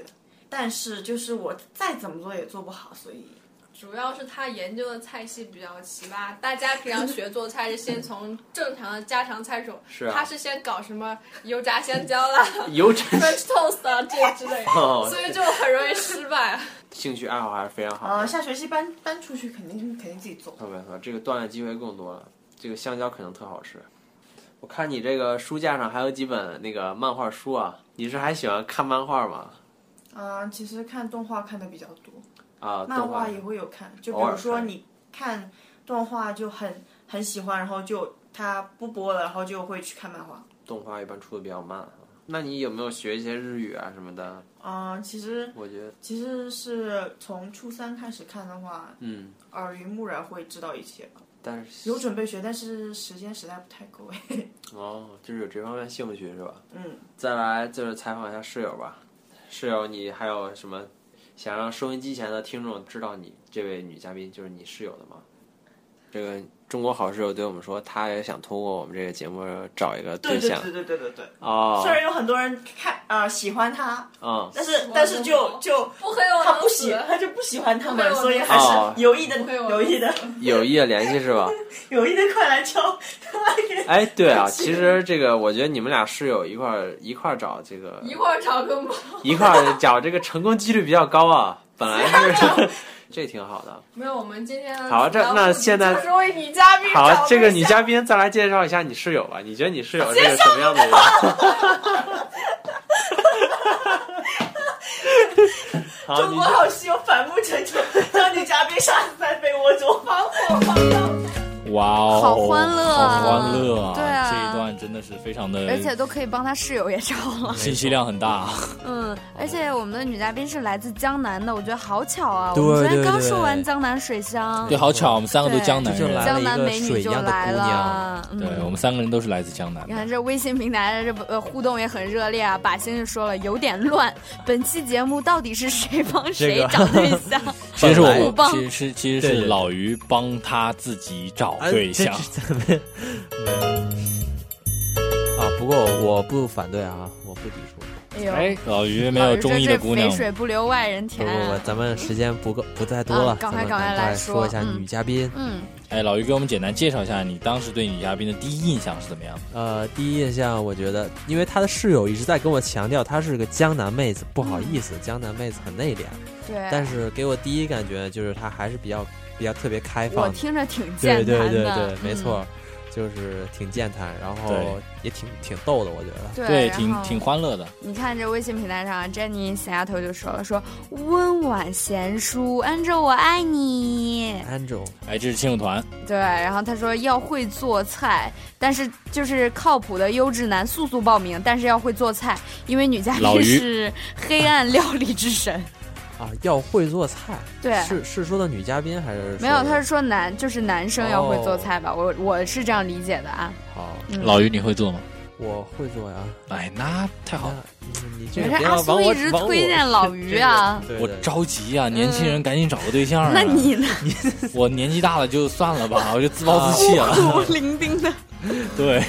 但是就是我再怎么做也做不好，所以。 主要是他研究的菜系比较奇葩，大家平常学做菜是先从正常的家常菜种， 是啊， 他是先搞什么油炸香蕉啦、 油炸 French toast 啊这之类的，所以就很容易失败。 兴趣爱好还是非常好。 下学期搬出去肯定自己做。 没错，这个锻炼机会更多了。这个香蕉可能特好吃。我看你这个书架上还有几本那个漫画书啊，你是还喜欢看漫画吗？ 其实看动画看的比较多。 漫画也会有看，就比如说你看动画就很喜欢，然后就它不播了，然后就会去看漫画。 动画一般出的比较慢，那你有没有学一些日语啊什么的？ 其实我觉得其实是从初3开始看的话，耳濡目染会知道一些吧。 但是有准备学，但是时间实在不太够就是有这方面兴趣是吧？再来就是采访一下室友吧。室友，你还有什么想让收音机前的听众知道你这位女嘉宾就是你室友的吗？这个中国好室友对我们说，他也想通过我们这个节目找一个对象。 对。 虽然有很多人喜欢他，但是就不黑我， 他就不喜欢他们，所以还是有意的联系是吧？ 有意的快来敲。 哎，对啊，其实这个我觉得你们俩室友一块找这个一块找个猫， 一块找这个成功几率比较高啊，本来是。这挺好的。 没有，我们今天好，那现在就是为女嘉宾好，这个女嘉宾再来介绍一下你室友吧。你觉得你室友是个什么样的人？ 中国好室友反目成仇，让女嘉宾杀死在被窝中，防火防盗。 哇哦， 好欢乐啊！ 好欢乐啊！ 对啊， 这一段真的是非常的， 而且都可以帮他室友也找了， 信息量很大。 而且我们的女嘉宾是来自江南的，我觉得好巧啊！ 对， 我们昨天刚说完江南水乡， 对，好巧，我们3个都江南人， 江南美女就来了。 对，我们3个人都是来自江南。 你看这微信平台的这互动也很热烈啊！把星就说了有点乱，本期节目到底是谁帮谁找对象？ 其实是老于帮他自己找对象。 不过我不反对啊，我不抵触。 哎，老于没有中意的姑娘。 肥水不流外人田。 不，咱们时间不再多了， 赶快来说一下女嘉宾。 哎，老于给我们简单介绍一下你当时对女嘉宾的第一印象是怎么样的？ 第一印象我觉得，因为她的室友一直在跟我强调她是个江南妹子，不好意思，江南妹子很内敛。 对。 但是给我第一感觉就是她还是比较特别开放。 我听着挺健谈的。 对，没错。就是挺健谈，然后也挺逗的，我觉得。 对，挺欢乐的。 你看这微信平台上 ，Jenny 小丫头就说了，说温婉贤淑 ，Angel 我爱你 ，Angel。 哎，这是亲友团。 对，然后他说要会做菜，但是就是靠谱的优质男速报名，但是要会做菜，因为女嘉宾是黑暗料理之神。 要会做菜， 对， 是说的女嘉宾还是没有？他是说就是男生要会做菜吧？我是这样理解的啊。 好， 老于你会做吗？ 我会做呀。 哎，那太好了。 你这个阿苏一直推荐老于啊， 我着急啊！年轻人赶紧找个对象啊！ 那你呢？ 我年纪大了就算了吧，我就自暴自弃了。 孤苦伶仃的。 对。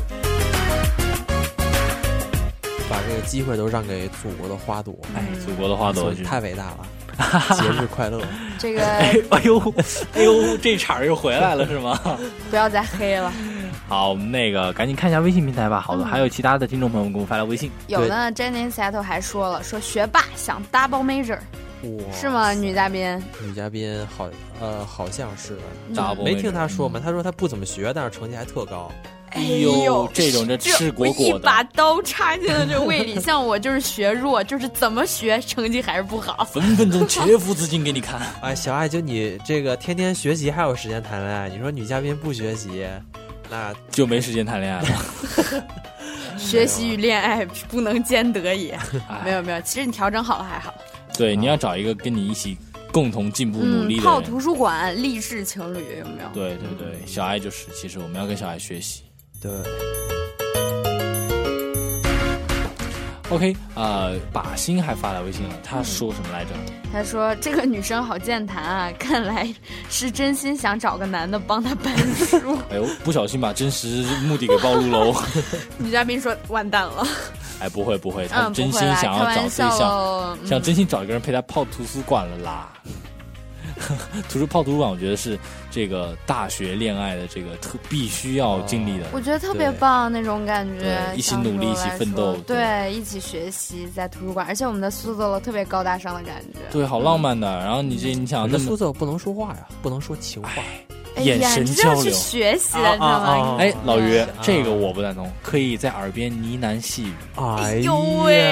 把这个机会都让给祖国的花朵， 祖国的花朵太伟大了，节日快乐！ 这个， 哎呦，这茬又回来了是吗？ 不要再黑了。 好，我们赶紧看一下微信平台吧。好的，还有其他的听众朋友们给我发来微信。 有的 Jenny Seattle 还说了，说学霸想 double major， 是吗？女嘉宾好像是， 没听她说嘛？她说她不怎么学，但是成绩还特高。 哎呦，这种赤果果的， 一把刀插进了这胃里。像我就是学弱，就是怎么学成绩还是不好， 分分钟切腹自尽给你看。 哎，小爱，就你这个天天学习还有时间谈恋爱，你说女嘉宾不学习，那就没时间谈恋爱了。 学习与恋爱不能兼得也。没有，其实你调整好了还好。 对，你要找一个跟你一起共同进步努力的人。 泡图书馆励志情侣有没有？ 对，小爱就是，其实我们要跟小爱学习。 对。 OK， 把心还发来微信了，他说什么来着？ 他说这个女生好健谈啊，看来是真心想找个男的帮她搬书。 哎呦，不小心把真实目的给暴露喽。 女嘉宾说完蛋了。 哎，不会，他真心想要找对象，想真心找一个人陪他泡图书馆了啦。泡图书馆，我觉得是这个大学恋爱的这个必须要经历的。 我觉得特别棒那种感觉， 一起努力，一起奋斗， 对，一起学习在图书馆，而且我们的苏州楼特别高大上的感觉， 对，好浪漫的。然后你想， 那苏州不能说话呀，不能说情话。 眼神交流， 去学习了，知道吗？ 哎，老于，这个我不赞同，可以在耳边呢喃细语。 哎呦喂！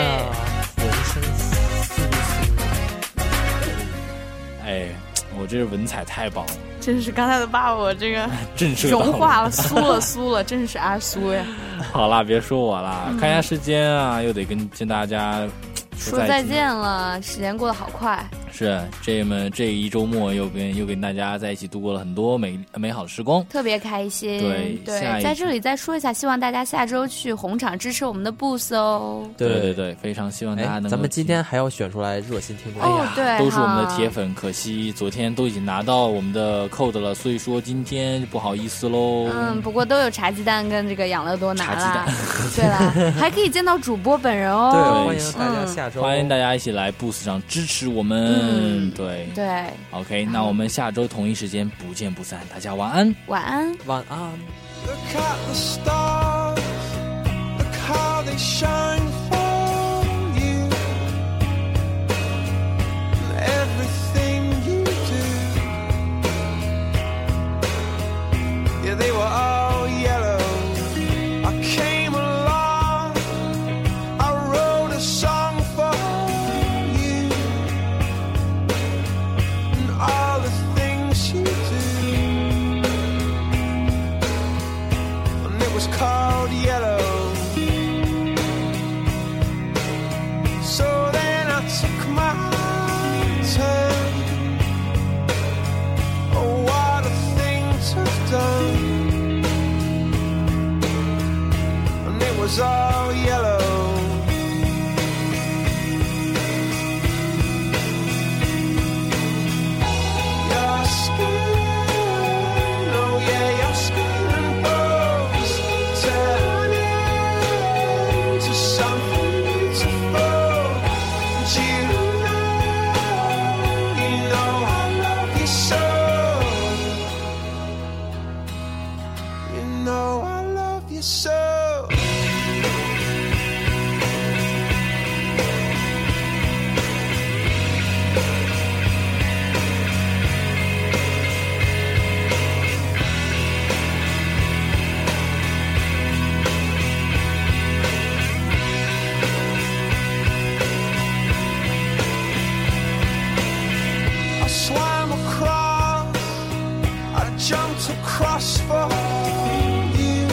哎，我这文采太棒了， 真是刚才都把我这个融化了，酥了，真是阿苏呀！ 好啦，别说我啦，看一下时间啊，又得跟大家说再见了，时间过得好快。 是，这一周末又跟大家在一起度过了很多美好的时光， 特别开心。 对， 在这里再说一下，希望大家下周去红场支持我们的 Boost 哦。 对，非常希望大家能够。 咱们今天还要选出来热心听众， 对， 都是我们的铁粉，可惜昨天都已经拿到我们的 code 了，所以说今天就不好意思喽。 不过都有茶鸡蛋跟这个养乐多拿了。对了，还可以见到主播本人哦。 对，欢迎大家下周， 欢迎大家一起来 Boost 上支持我们。对 ，OK， 那我们下周同一时间不见不散，大家晚安， 晚安， 晚安。 Look at the stars, look how they shine for you. Everything you do, yeah, they were all yellow. I came along, I wrote a song for you, and all the things you do, and it was called yellow. So then I took my turn. Oh, what a thing to have done. And it was all yellow. Your skin, oh yeah, your skin and bones turn into something beautiful. And you know I love you so. You know I love you so. I swam across, I jumped across for you.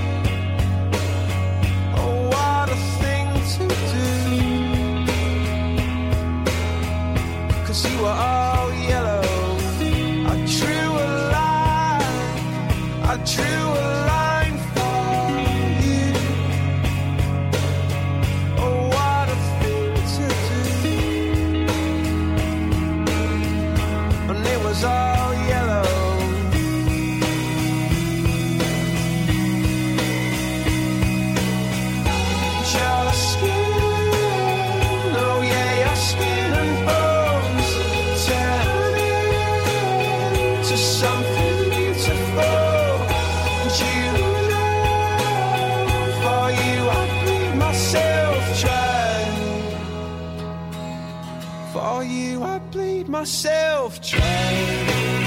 Oh, what a thing to do, 'cause you were all yellow. I drew a line for you. Oh, what a thing to do, and it was all yellow. Your skin, oh yeah, your skin and bones turn into something beautiful. And you know, for you I bleed myself dry. For you I bleed myself dry.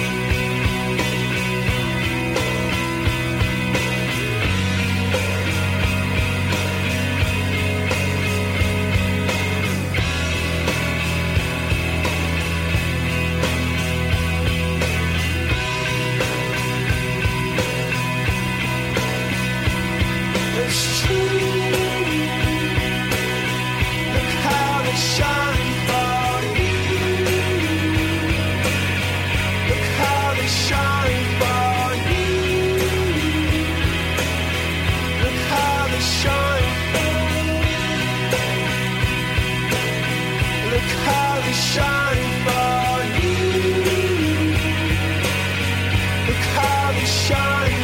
It's true. Look how they shine for you. Look how they shine for you. Look how they shine. Look how they shine for you. Look how they shine.